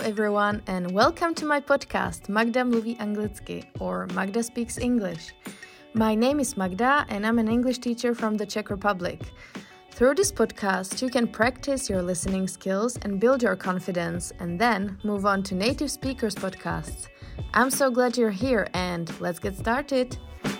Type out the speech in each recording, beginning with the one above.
everyone, and welcome to my podcast Magda mluví anglicky, or Magda Speaks English. My name is Magda, and I'm an English teacher from the Czech Republic. Through this podcast, you can practice your listening skills and build your confidence, and then move on to native speakers podcasts. I'm so glad you're here, and let's get started.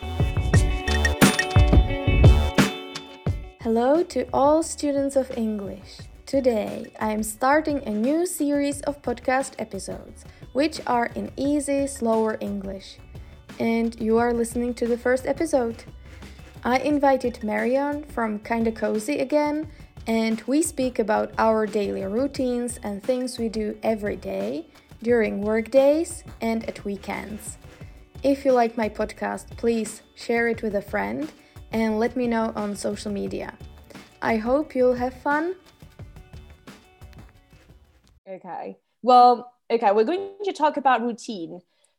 Hello to all students of English. Today, I am starting a new series of podcast episodes, which are in easy, slower English. And you are listening to the first episode. I invited Marion from Kinda Cozy again, and we speak about our daily routines and things we do every day, during work days and at weekends. If you like my podcast, please share it with a friend and let me know on social media. I hope you'll have fun. Okay. Well, we're going to talk about routine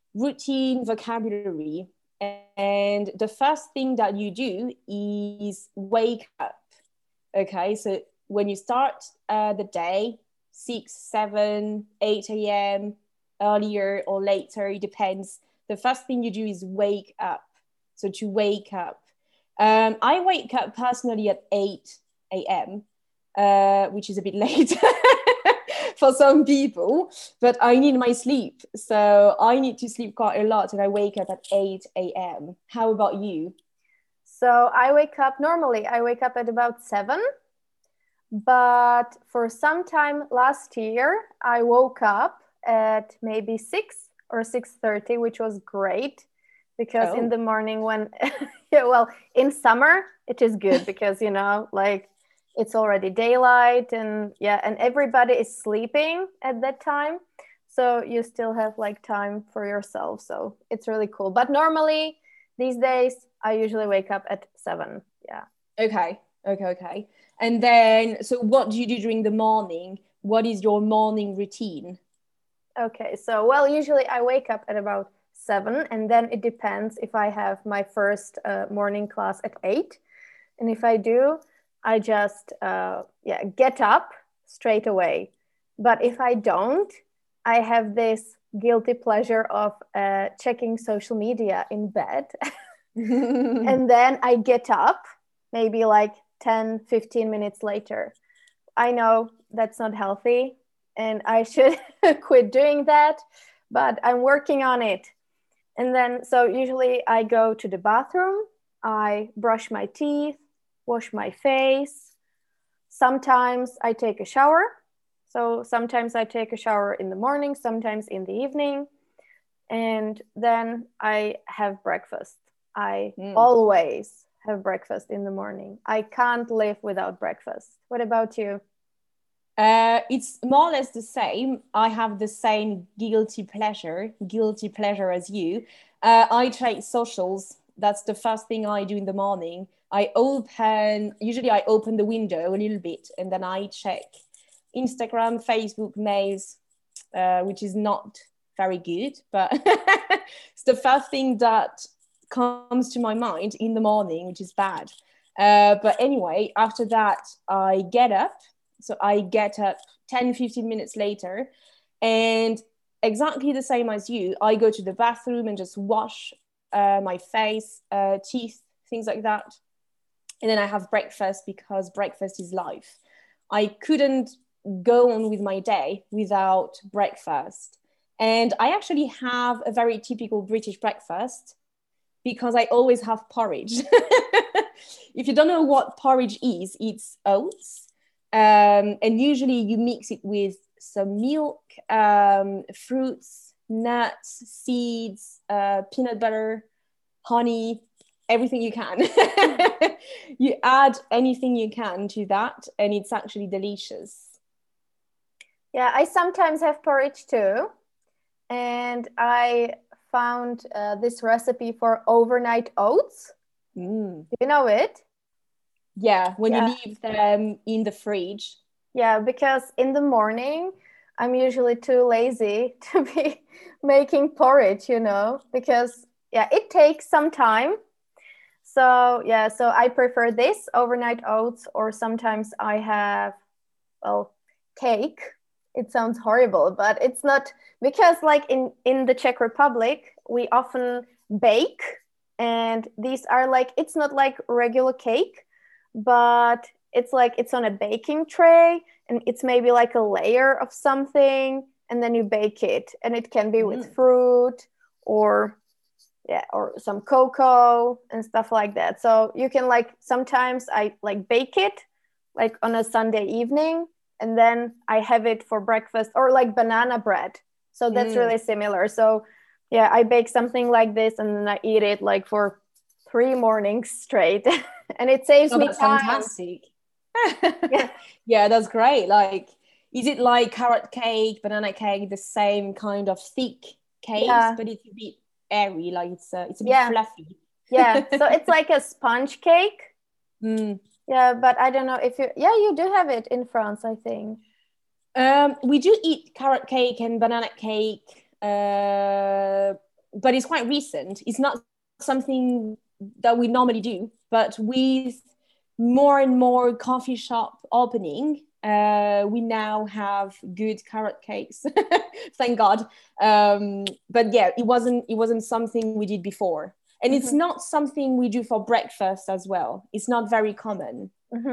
vocabulary. And the first thing that you do is wake up. Okay. So when you start the day, 6, 7, 8 a.m., earlier or later, it depends. The first thing you do is wake up. So to wake up. I wake up personally at 8 a.m., which is a bit late. For some people, but I need my sleep. So I need to sleep quite a lot and I wake up at 8 a.m. How about you? So I wake up at about 7, but for some time last year, I woke up at maybe 6 or 6:30, which was great because in the morning when, in summer, it is good because, it's already daylight and everybody is sleeping at that time. So you still have time for yourself. So it's really cool. But normally these days, I usually wake up at 7. Yeah. Okay. And then, so what do you do during the morning? What is your morning routine? Okay. So, usually I wake up at about 7 and then it depends if I have my first morning class at 8. And if I do, I just get up straight away. But if I don't, I have this guilty pleasure of checking social media in bed. And then I get up maybe 10, 15 minutes later. I know that's not healthy and I should quit doing that, but I'm working on it. And then, so usually I go to the bathroom, I brush my teeth, wash my face. Sometimes I take a shower. So sometimes I take a shower in the morning, sometimes in the evening. And then I have breakfast. I always have breakfast in the morning. I can't live without breakfast. What about you? It's more or less the same. I have the same guilty pleasure as you. I check socials. That's the first thing I do in the morning. I open the window a little bit and then I check Instagram, Facebook, mails, which is not very good, but it's the first thing that comes to my mind in the morning, which is bad. But anyway, after that, I get up. So I get up 10, 15 minutes later and exactly the same as you, I go to the bathroom and just wash my face, teeth, things like that. And then I have breakfast because breakfast is life. I couldn't go on with my day without breakfast. And I actually have a very typical British breakfast because I always have porridge. If you don't know what porridge is, it's oats. And usually you mix it with some milk, fruits, nuts, seeds, peanut butter, honey, everything you can. You add anything you can to that and it's actually delicious. Yeah, I sometimes have porridge too. And I found this recipe for overnight oats. Do you know it? Yeah, when you leave them in the fridge. Yeah, because in the morning, I'm usually too lazy to be making porridge, because it takes some time. So I prefer this overnight oats, or sometimes I have, cake It sounds horrible, but it's not, because like in the Czech Republic, we often bake, and these are like, it's not like regular cake, but it's like it's on a baking tray, and it's maybe like a layer of something, and then you bake it, and it can be with fruit, or yeah, or some cocoa and stuff like that. So you can like, sometimes I like bake it like on a Sunday evening, and then I have it for breakfast, or like banana bread. So that's really similar. So yeah, I bake something like this, and then I eat it like for 3 mornings straight. And it saves Oh, me that's time. fantastic. Yeah. Yeah, that's great. Like, is it like carrot cake, banana cake, the same kind of thick cakes, Yeah. but it's a bit airy, like it's a bit Yeah. fluffy. Yeah. So it's like a sponge cake. Mm. Yeah, but I don't know if you, yeah, you do have it in France, I think. We do eat carrot cake and banana cake, but it's quite recent. It's not something that we normally do, but with more and more coffee shop opening, we now have good carrot cakes. Thank God. But yeah, it wasn't something we did before, and it's not something we do for breakfast as well. It's not very common.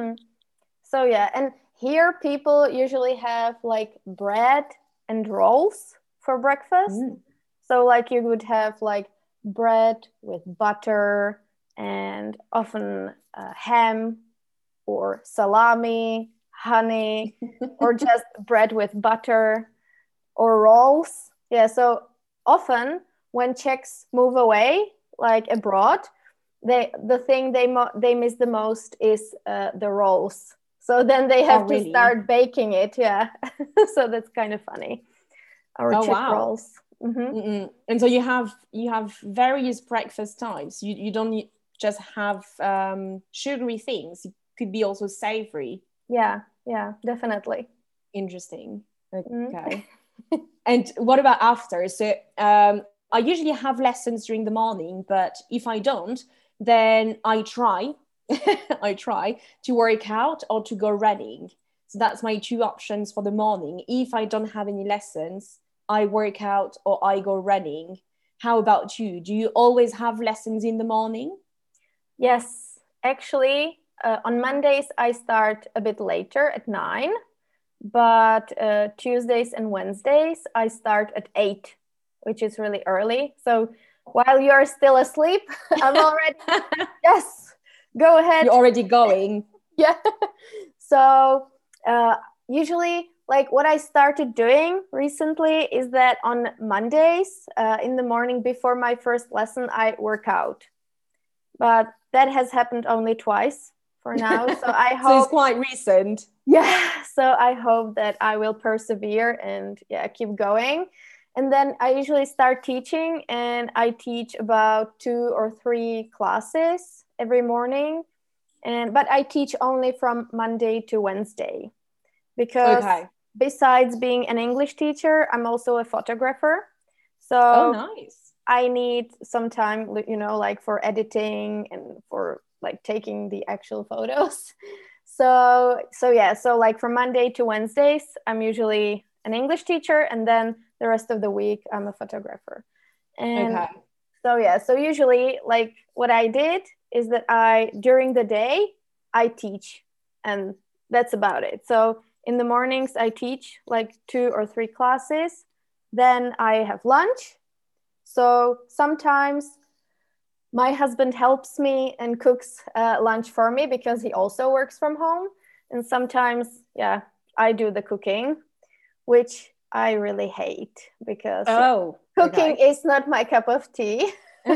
So yeah, and here people usually have like bread and rolls for breakfast. So like you would have like bread with butter, and often ham or salami, honey, or just bread with butter, or rolls. Yeah, so often when Czechs move away, like abroad, the thing they miss the most is the rolls. So then they have to really? start baking it. Yeah, so that's kind of funny. Our Czech rolls. And so you have various breakfast types. You don't just have sugary things. It could be also savory. Yeah, definitely. Interesting. Okay. And what about after? So I usually have lessons during the morning, but if I don't, then I try I try to work out or to go running. So that's my two options for the morning. If I don't have any lessons, I work out or I go running. How about you? Do you always have lessons in the morning? Yes, actually, on Mondays I start a bit later at 9, but Tuesdays and Wednesdays I start at 8, which is really early. So while you're still asleep, I'm already, yes, go ahead. You're already going. Yeah. So usually, like what I started doing recently is that on Mondays in the morning before my first lesson, I work out. But that has happened only twice for now. So I hope. So it's quite recent. Yeah. So I hope that I will persevere and keep going. And then I usually start teaching, and I teach about 2 or 3 classes every morning. But I teach only from Monday to Wednesday, because besides being an English teacher, I'm also a photographer. So nice. I need some time, like for editing and for like taking the actual photos. So like from Monday to Wednesdays, I'm usually an English teacher, and then the rest of the week I'm a photographer. And so usually like what I did is that during the day I teach, and that's about it. So in the mornings I teach like 2 or 3 classes, then I have lunch. So sometimes my husband helps me and cooks lunch for me, because he also works from home. And sometimes, I do the cooking, which I really hate, because cooking is not my cup of tea.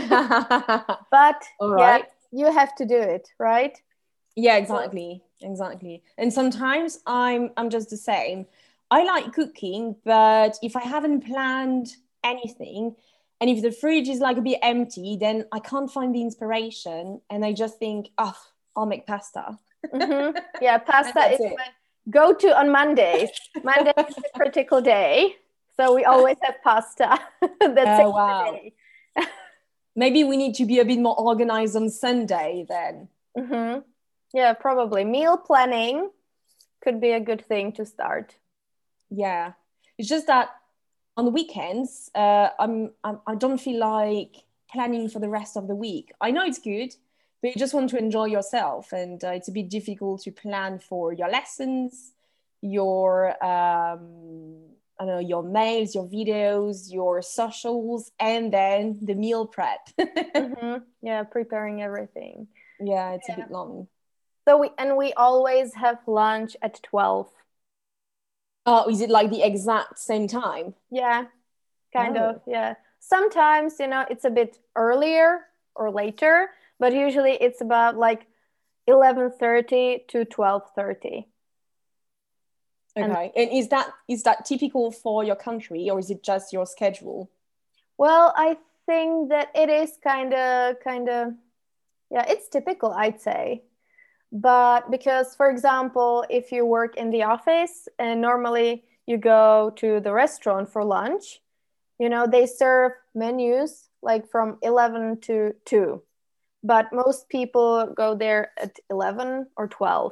But you have to do it, right? Yeah, exactly. And sometimes I'm just the same. I like cooking, but if I haven't planned anything, and if the fridge is like a bit empty, then I can't find the inspiration, and I just think, I'll make pasta. Yeah, pasta is my go-to on Mondays. Monday is a critical day, so we always have pasta. That's it. Wow. Maybe we need to be a bit more organized on Sunday then. Yeah, probably. Meal planning could be a good thing to start. Yeah, it's just that on the weekends, I don't feel like planning for the rest of the week. I know it's good, but you just want to enjoy yourself, and it's a bit difficult to plan for your lessons, your I don't know, your mails, your videos, your socials, and then the meal prep. Yeah, preparing everything. Yeah, it's a Yeah. bit long. So we always have lunch at 12. Oh, is it like the exact same time? Yeah, kind of. Oh, Yeah. Sometimes, it's a bit earlier or later, but usually it's about like 11:30 to 12:30. And okay. And is that typical for your country, or is it just your schedule? well, I think that it is kind of yeah, it's typical, I'd say. But because, for example, if you work in the office and normally you go to the restaurant for lunch, they serve menus like from 11 to 2. But most people go there at 11 or 12.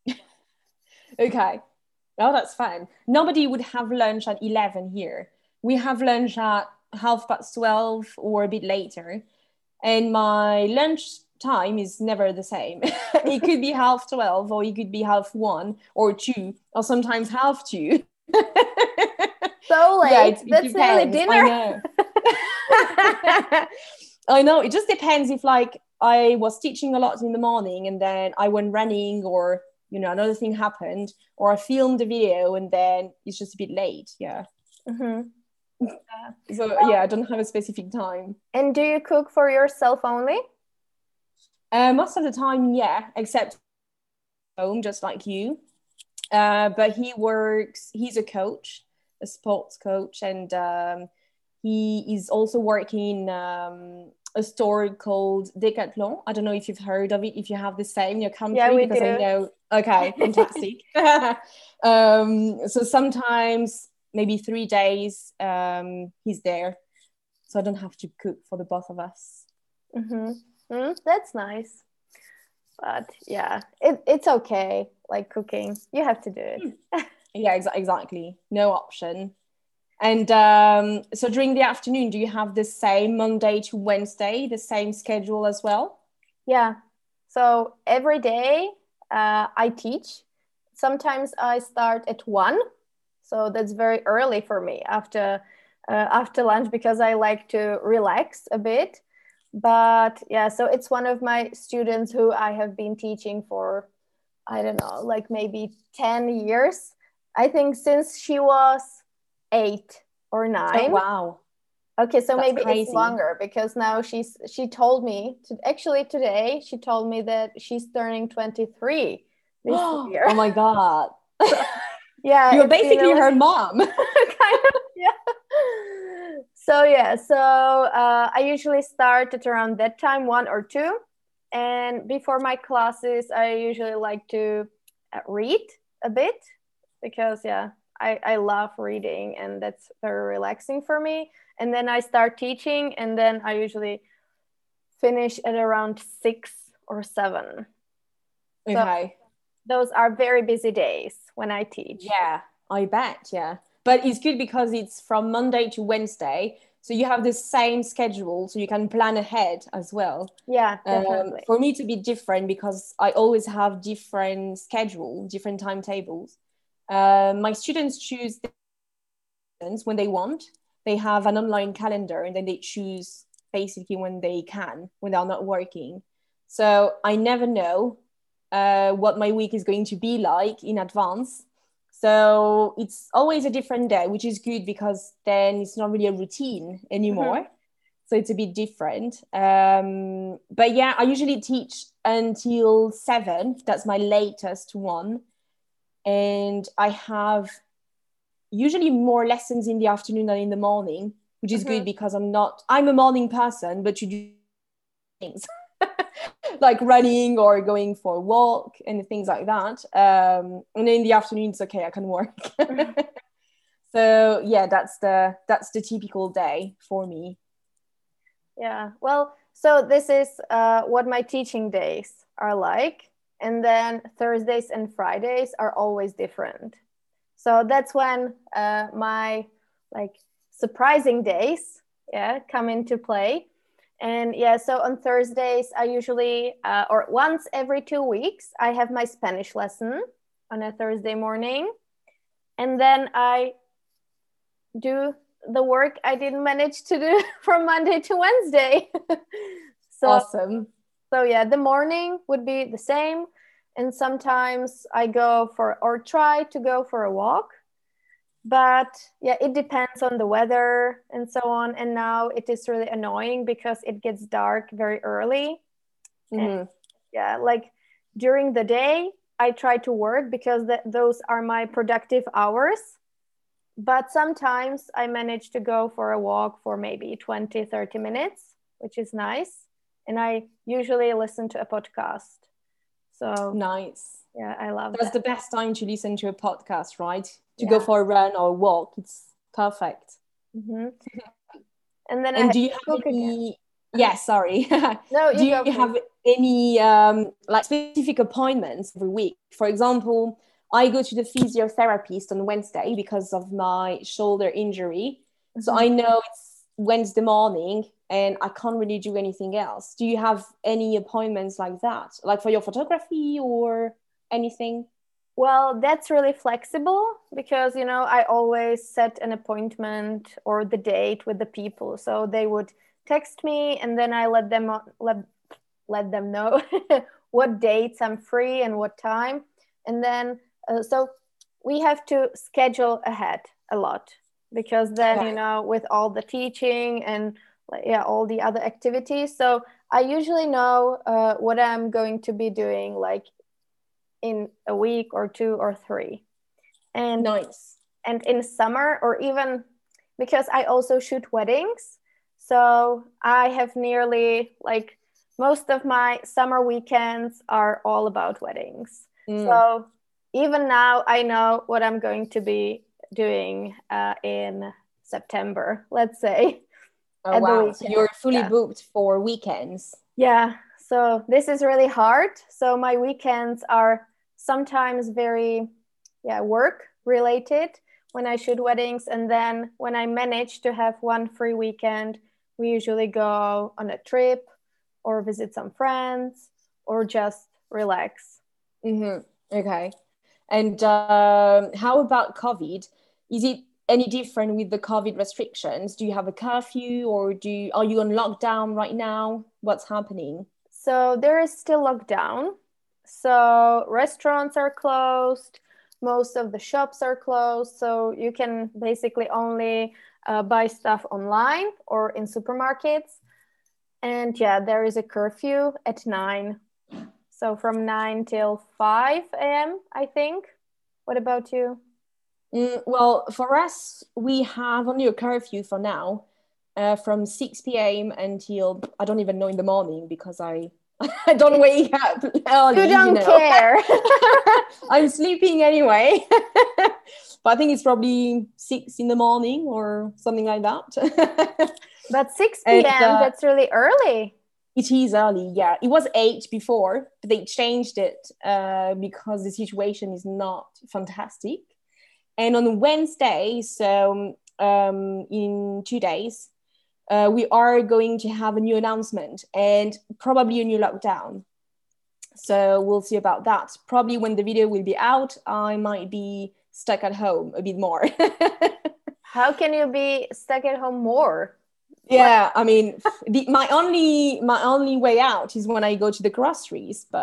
Okay. Oh, that's fine. Nobody would have lunch at 11 here. We have lunch at 12:30 or a bit later. And my lunch time is never the same. It could be 12:30, or it could be 1:30 or 2, or sometimes 1:30. So Yeah, late. it That's nearly depends. I dinner. know. I know. It just depends if like I was teaching a lot in the morning and then I went running, or another thing happened, or I filmed a video and then it's just a bit late. Yeah. Mhm. So yeah, I don't have a specific time. And do you cook for yourself only? Most of the time, yeah, except home, just like you. But he's a coach, a sports coach, and he is also working in a store called Decathlon. I don't know if you've heard of it, if you have the same in your Yeah, country, we because I do. know, okay, fantastic. So sometimes, maybe 3 days, he's there. So I don't have to cook for the both of us. That's nice. But yeah, it's okay. Like cooking, you have to do it. Yeah, exactly. No option. And so during the afternoon, do you have the same Monday to Wednesday, the same schedule as well? Yeah. So every day I teach. Sometimes I start at 1. So that's very early for me after lunch because I like to relax a bit. But yeah, so it's one of my students who I have been teaching for, I don't know, like maybe 10 years. I think since she was 8 or Oh, 9. wow. Okay, so That's maybe it's crazy. longer because now she told me actually today she told me that she's turning 23 this year. Oh my God. So yeah, You're it's been a basically little her mom. kind of yeah. So yeah, so I usually start at around that time, 1 or 2, and before my classes, I usually like to read a bit because yeah, I love reading and that's very relaxing for me. And then I start teaching, and then I usually finish at around 6 or 7. So Okay. those are very busy days when I teach. Yeah, I bet. Yeah. But it's good because it's from Monday to Wednesday. So you have the same schedule, so you can plan ahead as well. Yeah, definitely. For me to be different, because I always have different schedule, different timetables. My students choose when they want. They have an online calendar and then they choose basically when they can, when they're not working. So I never know what my week is going to be like in advance. So it's always a different day, which is good because then it's not really a routine Mhm. anymore. So it's a bit different. But yeah, I usually teach until 7. That's my latest one. And I have usually more lessons in the afternoon than in the morning, which is good Mhm. because I'm a morning person, but you do things like running or going for a walk and things like that. And in the afternoon, it's okay, I can work. So yeah, that's the typical day for me. Yeah. Well, so this is what my teaching days are like. And then Thursdays and Fridays are always different. So that's when my like surprising days, come into play. And so on Thursdays, I usually, or once every 2 weeks, I have my Spanish lesson on a Thursday morning. And then I do the work I didn't manage to do from Monday to Wednesday. Awesome. So the morning would be the same. And sometimes I go for, or try to go for a walk. But it depends on the weather and so on. And now it is really annoying because it gets dark very early. Mm-hmm. And like during the day, I try to work because those are my productive hours. But sometimes I manage to go for a walk for maybe 20, 30 minutes, which is nice. And I usually listen to a podcast. So nice. Yeah, I love That's that. the best time to listen to a podcast, right? To go for a run or a walk. It's perfect. Mm-hmm. And then do you have any... Yeah, sorry. No, do you have any like specific appointments every week? For example, I go to the physiotherapist on Wednesday because of my shoulder injury. Mm-hmm. So I know it's Wednesday morning and I can't really do anything else. Do you have any appointments like that? Like for your photography or anything? Well, that's really flexible because, I always set an appointment or the date with the people. So they would text me and then I let them know what dates I'm free and what time. And then, so we have to schedule ahead a lot because then, with all the teaching and all the other activities. So I usually know what I'm going to be doing like in a week or 2 or 3. And nice. And in summer, or even because I also shoot weddings, so I have nearly like most of my summer weekends are all about weddings. So even now I know what I'm going to be doing in September, let's say. Oh wow, so you're fully booked for weekends. Yeah, so this is really hard. So my weekends are sometimes very work related when I shoot weddings, and then when I manage to have one free weekend, we usually go on a trip or visit some friends or just relax. Mm-hmm. Okay. And how about COVID? Is it any different with the COVID restrictions? Do you have a curfew or are you on lockdown right now? What's happening? So there is still lockdown. So restaurants are closed. Most of the shops are closed. So you can basically only buy stuff online or in supermarkets. And there is a curfew at 9. So from 9 till 5 a.m., I think. What about you? Well, for us, we have only a curfew for now, from 6 p.m. until, I don't even know, in the morning because I don't wake up early. You don't care. I'm sleeping anyway. But I think it's probably 6 in the morning or something like that. But 6 p.m., that's really early. It is early, yeah. It was 8 before, but they changed it because the situation is not fantastic. And on Wednesday, so in 2 days, we are going to have a new announcement and probably a new lockdown. So we'll see about that. Probably when the video will be out, I might be stuck at home a bit more. How can you be stuck at home more? Yeah, I mean, my only way out is when I go to the groceries, but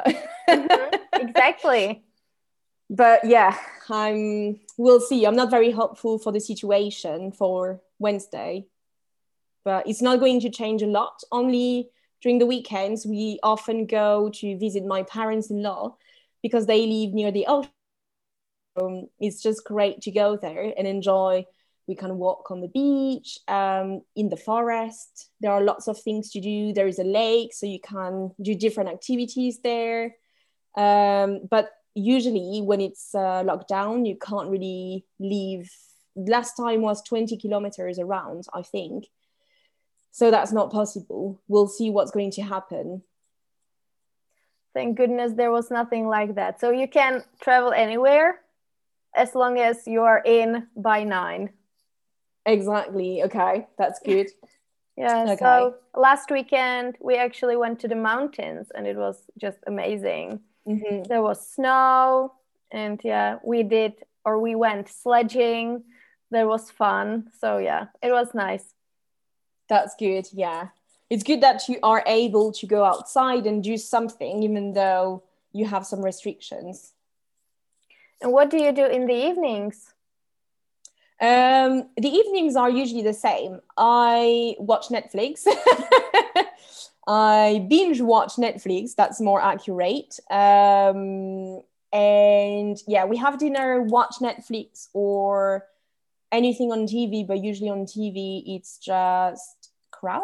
exactly. But yeah, we'll see. I'm not very hopeful for the situation for Wednesday, but it's not going to change a lot. Only during the weekends, we often go to visit my parents-in-law because they live near the ocean. It's just great to go there and enjoy. We can walk on the beach, in the forest. There are lots of things to do. There is a lake, so you can do different activities there. But usually when it's locked down, you can't really leave. Last time was 20 kilometers around, I think. So that's not possible. We'll see what's going to happen. Thank goodness there was nothing like that. So you can travel anywhere as long as you are in by 9. Exactly. Okay, that's good. Yeah, Okay. so last weekend we actually went to the mountains and it was just amazing. Mm-hmm. There was snow and we went sledging. There was fun. So it was nice. That's good. Yeah. It's good that you are able to go outside and do something, even though you have some restrictions. And what do you do in the evenings? The evenings are usually the same. I watch Netflix. I binge watch Netflix. That's more accurate. And we have dinner, watch Netflix or anything on TV, but usually on TV, it's just crap.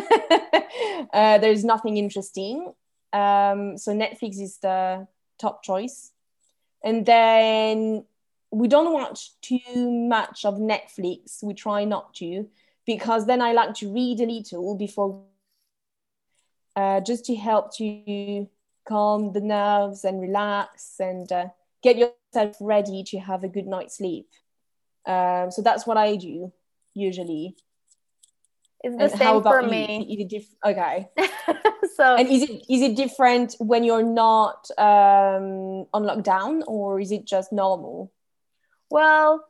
There's nothing interesting. So Netflix is the top choice. And then we don't watch too much of Netflix. We try not to, because then I like to read a little before, just to help to calm the nerves and relax and get yourself ready to have a good night's sleep. So that's what I do usually. It's the same for me. Okay. So, and is it different when you're not on lockdown, or is it just normal? Well,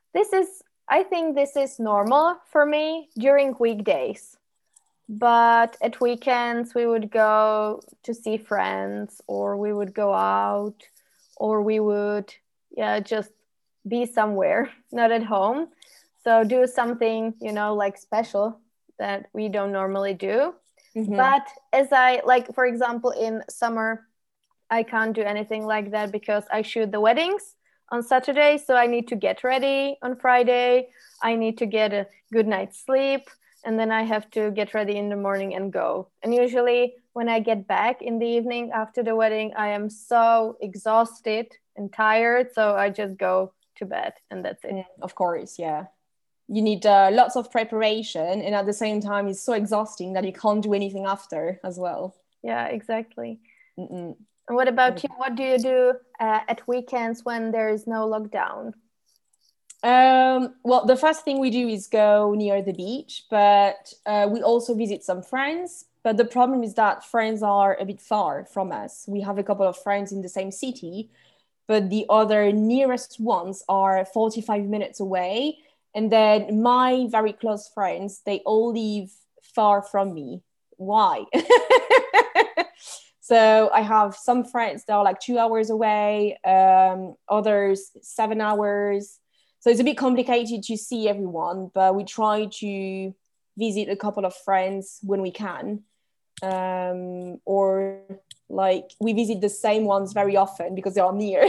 I think this is normal for me during weekdays. But at weekends, we would go to see friends, or we would go out, or we would just be somewhere, not at home. So do something, like special that we don't normally do. Mm-hmm. But for example, in summer, I can't do anything like that because I shoot the weddings on Saturday. So I need to get ready on Friday. I need to get a good night's sleep. And then I have to get ready in the morning and go. And usually when I get back in the evening after the wedding, I am so exhausted and tired. So I just go to bed and that's it. Of course, yeah. You need lots of preparation, and at the same time it's so exhausting that you can't do anything after as well. Yeah, exactly. Mm-mm. And what about you? What do you do at weekends when there is no lockdown? Well, the first thing we do is go near the beach, but we also visit some friends. But the problem is that friends are a bit far from us. We have a couple of friends in the same city, but the other nearest ones are 45 minutes away. And then my very close friends, they all live far from me. Why? So I have some friends that are like 2 hours away, others 7 hours. So it's a bit complicated to see everyone, but we try to visit a couple of friends when we can. Or like we visit the same ones very often because they are near.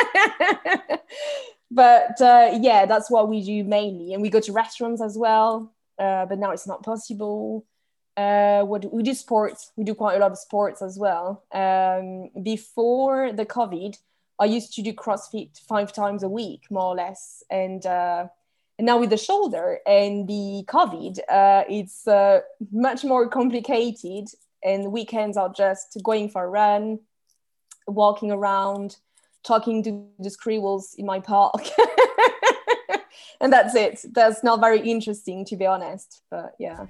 But that's what we do mainly. And we go to restaurants as well, but now it's not possible. We do sports. We do quite a lot of sports as well. Before the COVID, I used to do CrossFit 5 times a week, more or less. And now with the shoulder and the COVID, it's much more complicated. And weekends are just going for a run, walking around, talking to the squirrels in my park. And that's it. That's not very interesting, to be honest. But yeah.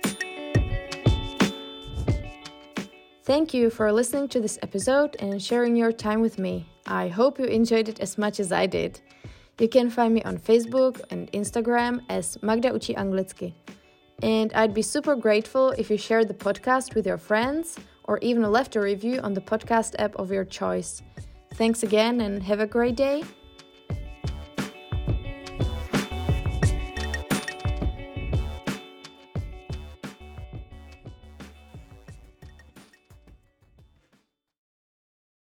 Thank you for listening to this episode and sharing your time with me. I hope you enjoyed it as much as I did. You can find me on Facebook and Instagram as Magda Uči Anglicky. And I'd be super grateful if you shared the podcast with your friends or even left a review on the podcast app of your choice. Thanks again and have a great day.